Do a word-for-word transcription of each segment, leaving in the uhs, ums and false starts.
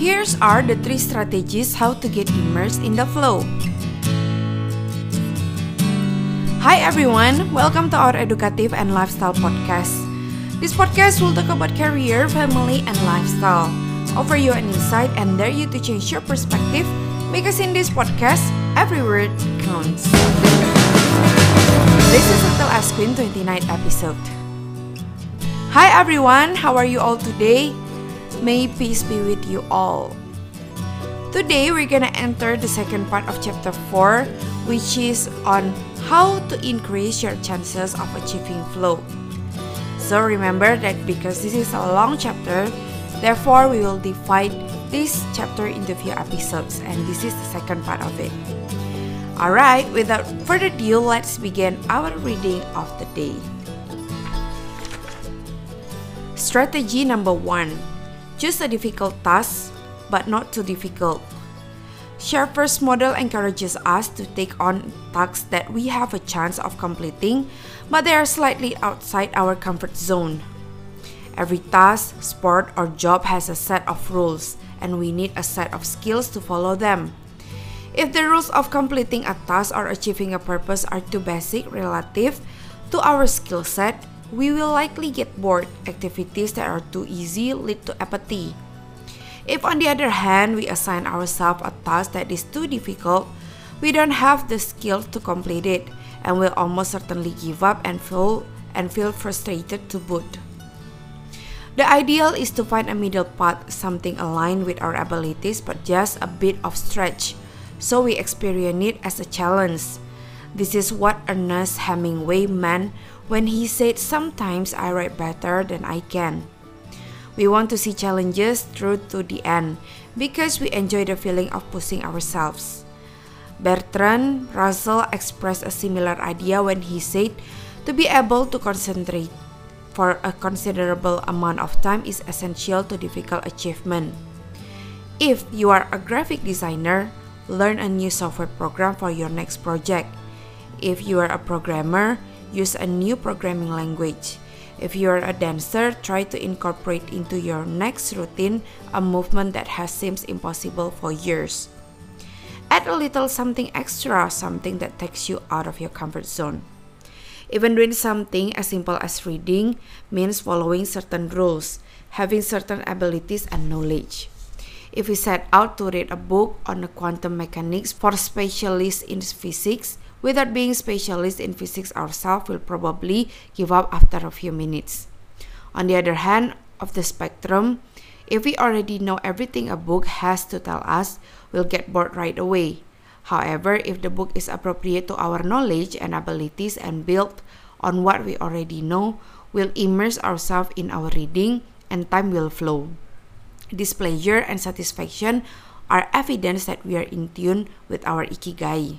Here's are the three strategies how to get immersed in the flow. Hi everyone, welcome to our educative and lifestyle podcast. This podcast will talk about career, family, and lifestyle. Offer you an insight and dare you to change your perspective, because in this podcast, every word counts. This is Hotel Asquin twenty-ninth episode. Hi everyone, how are you all today? May peace be with you all. Today we're gonna enter the second part of chapter four, which is on how to increase your chances of achieving flow. So remember that because this is a long chapter, therefore we will divide this chapter into few episodes, and this is the second part of it. Alright, without further ado, let's begin our reading of the day. Strategy number one. Choose a difficult task, but not too difficult. Sharper's model encourages us to take on tasks that we have a chance of completing, but they are slightly outside our comfort zone. Every task, sport, or job has a set of rules, and we need a set of skills to follow them. If the rules of completing a task or achieving a purpose are too basic relative to our skill set, we will likely get bored. Activities that are too easy lead to apathy. If on the other hand, we assign ourselves a task that is too difficult, we don't have the skill to complete it, and will almost certainly give up and feel, and feel frustrated to boot. The ideal is to find a middle path, something aligned with our abilities but just a bit of stretch, so we experience it as a challenge. This is what Ernest Hemingway meant when he said, "Sometimes I write better than I can." We want to see challenges through to the end because we enjoy the feeling of pushing ourselves. Bertrand Russell expressed a similar idea when he said, "To be able to concentrate for a considerable amount of time is essential to difficult achievement." If you are a graphic designer, learn a new software program for your next project. If you are a programmer, use a new programming language. If you are a dancer, try to incorporate into your next routine a movement that has seemed impossible for years. Add a little something extra, something that takes you out of your comfort zone. Even doing something as simple as reading means following certain rules, having certain abilities and knowledge. If we set out to read a book on the quantum mechanics for specialists in physics, without being specialists in physics ourselves, we'll probably give up after a few minutes. On the other hand of the spectrum, if we already know everything a book has to tell us, we'll get bored right away. However, if the book is appropriate to our knowledge and abilities and built on what we already know, we'll immerse ourselves in our reading and time will flow. This pleasure and satisfaction are evidence that we are in tune with our ikigai.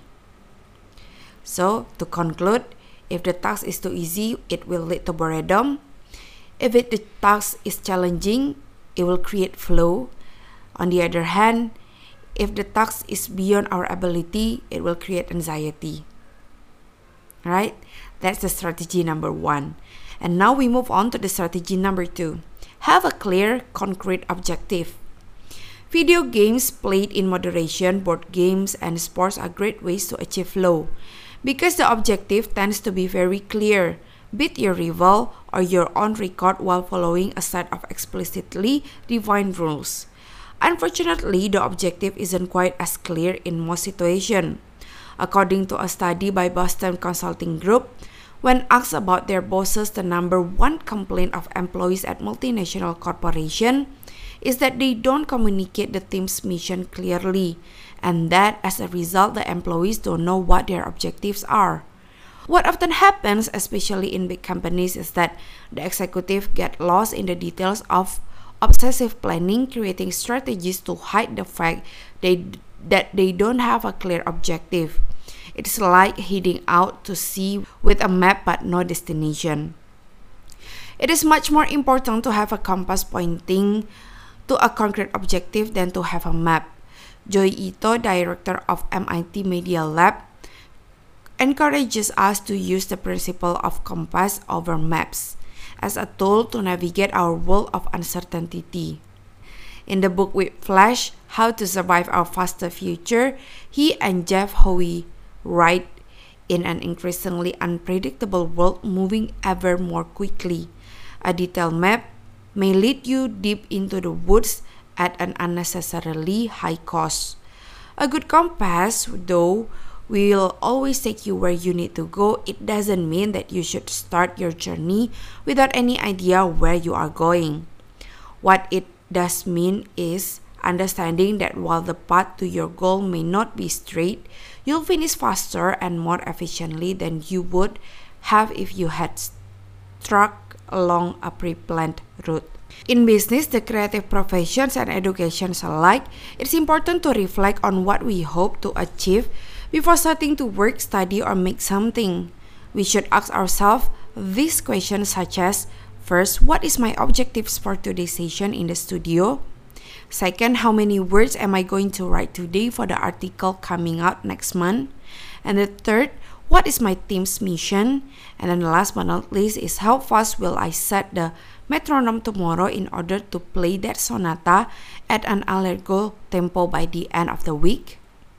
So, to conclude, if the task is too easy, it will lead to boredom. If it, the task is challenging, it will create flow. On the other hand, if the task is beyond our ability, it will create anxiety. Right? That's the strategy number one. And now we move on to the strategy number two. Have a clear, concrete objective. Video games played in moderation, board games, and sports are great ways to achieve flow, because the objective tends to be very clear. Beat your rival or your own record while following a set of explicitly defined rules. Unfortunately, the objective isn't quite as clear in most situations. According to a study by Boston Consulting Group, when asked about their bosses, the number one complaint of employees at multinational corporations is that they don't communicate the team's mission clearly, and that as a result, the employees don't know what their objectives are. What often happens, especially in big companies, is that the executive get lost in the details of obsessive planning, creating strategies to hide the fact they, that they don't have a clear objective. It's like heading out to sea with a map but no destination. It is much more important to have a compass pointing to a concrete objective than to have a map. Joi Ito, director of M I T Media Lab, encourages us to use the principle of compass over maps as a tool to navigate our world of uncertainty. In the book with Flash, How to Survive Our Faster Future, he and Jeff Howe write, in an increasingly unpredictable world moving ever more quickly, a detailed map may lead you deep into the woods at an unnecessarily high cost. A good compass, though, will always take you where you need to go. It doesn't mean that you should start your journey without any idea where you are going. What it does mean is understanding that while the path to your goal may not be straight, you'll finish faster and more efficiently than you would have if you had struck along a pre-planned route. In business, the creative professions and educations alike, it's important to reflect on what we hope to achieve before starting to work, study, or make something. We should ask ourselves these questions such as, first, what is my objectives for today's session in the studio? Second, how many words am I going to write today for the article coming out next month? And the third, what is my team's mission? And then last but not least is how fast will I set the metronome tomorrow in order to play that sonata at an allegro tempo by the end of the week?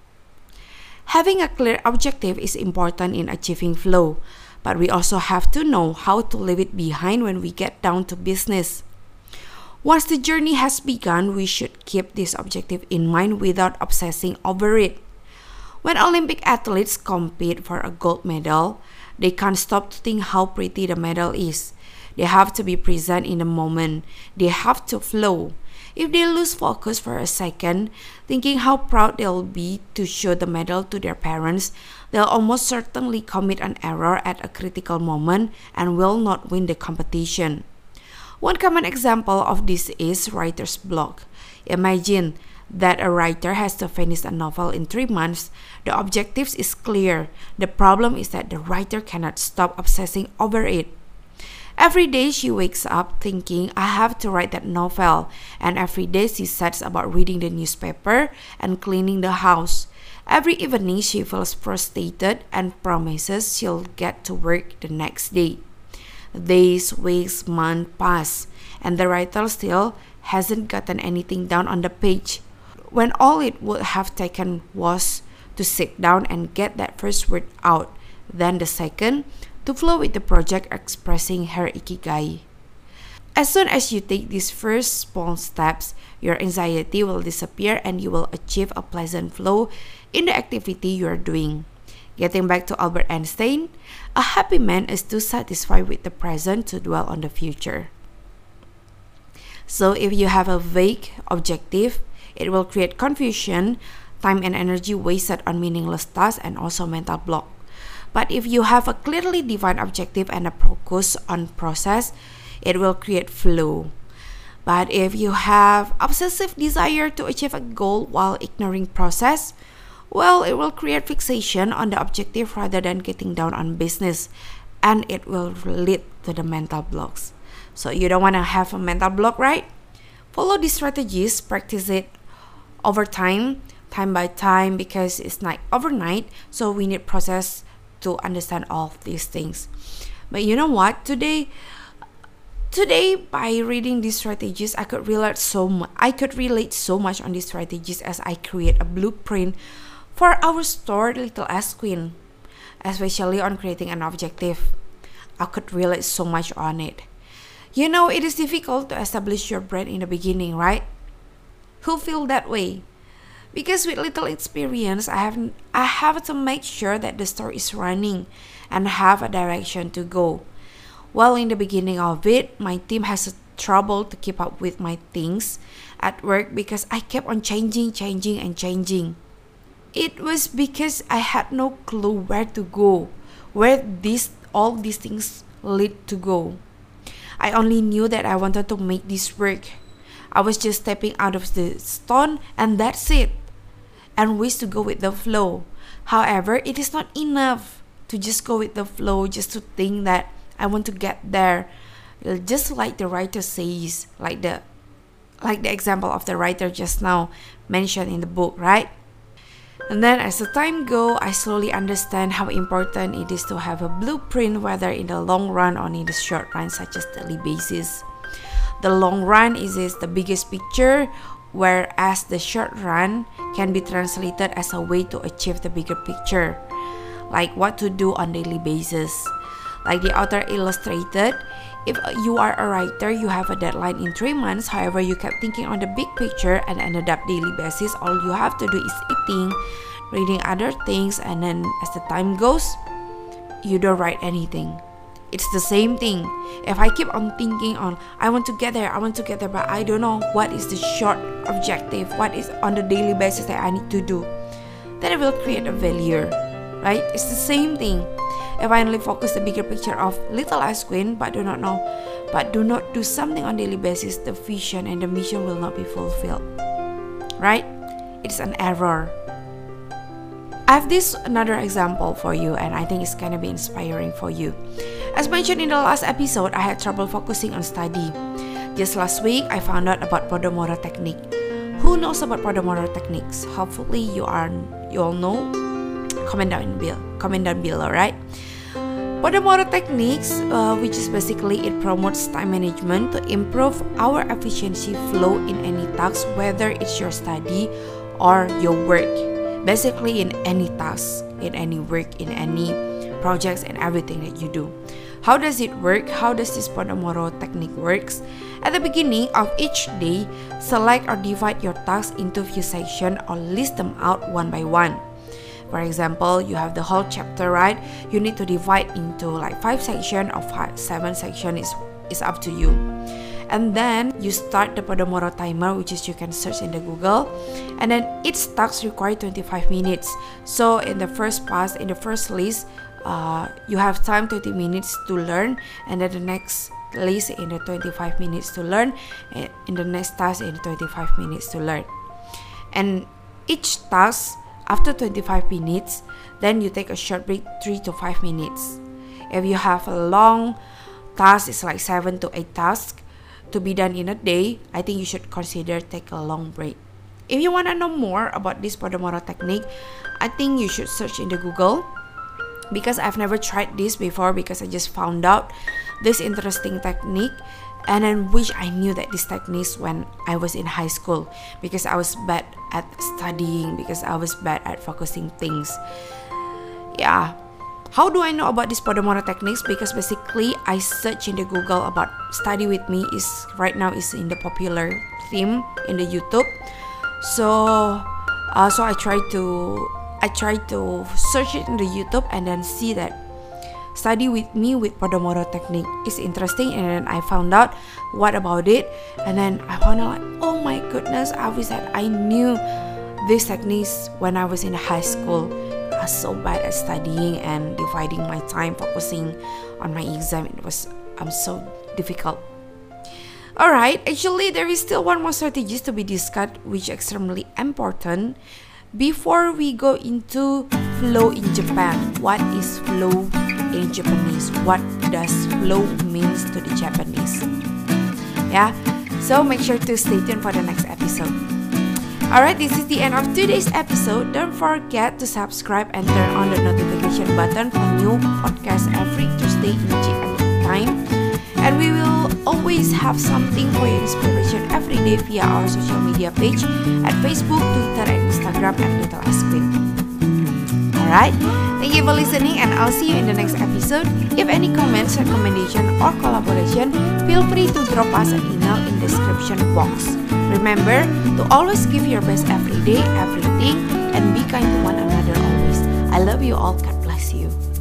Having a clear objective is important in achieving flow, but we also have to know how to leave it behind when we get down to business. Once the journey has begun, we should keep this objective in mind without obsessing over it. When Olympic athletes compete for a gold medal, they can't stop to think how pretty the medal is. They have to be present in the moment. They have to flow. If they lose focus for a second, thinking how proud they'll be to show the medal to their parents, they'll almost certainly commit an error at a critical moment and will not win the competition. One common example of this is writer's block. Imagine that a writer has to finish a novel in three months. The objective is clear. The problem is that the writer cannot stop obsessing over it. Every day she wakes up thinking, I have to write that novel, and every day she sets about reading the newspaper and cleaning the house. Every evening she feels frustrated and promises she'll get to work the next day. Days, weeks, months pass, and the writer still hasn't gotten anything down on the page, when all it would have taken was to sit down and get that first word out, then the second, to flow with the project expressing her ikigai. As soon as you take these first small steps, your anxiety will disappear and you will achieve a pleasant flow in the activity you are doing. Getting back to Albert Einstein, a happy man is too satisfied with the present to dwell on the future. So if you have a vague objective, it will create confusion, time and energy wasted on meaningless tasks, and also mental block. But if you have a clearly defined objective and a focus on process, it will create flow. But if you have obsessive desire to achieve a goal while ignoring process, well, it will create fixation on the objective rather than getting down on business, and it will lead to the mental blocks. So you don't want to have a mental block, right? Follow these strategies, practice it over time, time by time, because it's not overnight, so we need process to understand all of these things. But you know what? Today, today by reading these strategies, I could relate so much. I could relate so much on these strategies as I create a blueprint for our store, Little S Queen, especially on creating an objective. I could relate so much on it. You know, it is difficult to establish your brand in the beginning, right? Who feel that way? Because with little experience, I have I have to make sure that the store is running and have a direction to go. Well, in the beginning of it, my team has trouble to keep up with my things at work because I kept on changing, changing, and changing. It was because I had no clue where to go, where these all these things lead to go. I only knew that I wanted to make this work. I was just stepping out of the stone and that's it, and wish to go with the flow. However, it is not enough to just go with the flow, just to think that I want to get there. Just like the writer says, like the like the example of the writer just now mentioned in the book, right? And then as the time goes, I slowly understand how important it is to have a blueprint, whether in the long run or in the short run, such as daily basis. The long run is, is the biggest picture, whereas the short run can be translated as a way to achieve the bigger picture, like what to do on daily basis. Like the author illustrated, if you are a writer, you have a deadline in three months, however you kept thinking on the big picture and ended up daily basis, all you have to do is eating, reading other things, and then as the time goes, you don't write anything. It's the same thing. If I keep on thinking on, I want to get there, I want to get there, but I don't know what is the short objective, what is on the daily basis that I need to do, then it will create a failure, right? It's the same thing. If I only focus the bigger picture of Little Ice Queen, but do not know, but do not do something on daily basis, the vision and the mission will not be fulfilled, right? It's an error. I have this another example for you, and I think it's gonna be inspiring for you. As mentioned in the last episode, I had trouble focusing on study. Just last week, I found out about Pomodoro technique. Who knows about Pomodoro techniques? Hopefully, you are you all know. Comment down below. Comment down below, right? Pomodoro techniques, uh, which is basically it promotes time management to improve our efficiency flow in any task, whether it's your study or your work. Basically, in any task, in any work, in any projects, and everything that you do. How does it work? How does this Pomodoro technique works? At the beginning of each day, select or divide your tasks into few sections or list them out one by one. For example, you have the whole chapter, right? You need to divide into like five sections or five, seven sections is, is up to you. And then you start the Pomodoro timer, which is you can search in the Google. And then each task requires twenty-five minutes. So in the first pass, in the first list, uh, you have time twenty minutes to learn. And then the next list in the twenty-five minutes to learn. And in the next task in the twenty-five minutes to learn. And each task, after twenty-five minutes, then you take a short break, three to five minutes. If you have a long task, it's like seven to eight tasks to be done in a day, I think you should consider take a long break. If you want to know more about this Pomodoro technique, I think you should search in the Google, because I've never tried this before, because I just found out this interesting technique, and then wish I knew that this techniques when I was in high school, because I was bad at studying, because I was bad at focusing things. Yeah. How do I know about this Pomodoro techniques? Because basically I search in the Google about study with me is right now is in the popular theme in the YouTube. So, uh, so I try to I try to search it in the YouTube and then see that study with me with Pomodoro technique is interesting, and then I found out what about it, and then I found out like, oh my goodness, I wish that I knew these techniques when I was in high school. I was so bad at studying and dividing my time, focusing on my exam. It was um, so difficult. Alright, actually there is still one more strategies to be discussed, which is extremely important. Before we go into flow in Japan, what is flow in Japanese? What does flow means to the Japanese? Yeah, so make sure to stay tuned for the next episode. Alright, this is the end of today's episode. Don't forget to subscribe and turn on the notification button for new podcasts every Tuesday in G M T time. And we will always have something for your inspiration every day via our social media page at Facebook, Twitter, and Instagram at Little Ice Queen. Alright, thank you for listening, and I'll see you in the next episode. If any comments, recommendation, or collaboration, feel free to drop us an email in the description box. Remember to always give your best every day, everything, and be kind to one another always. I love you all. God bless you.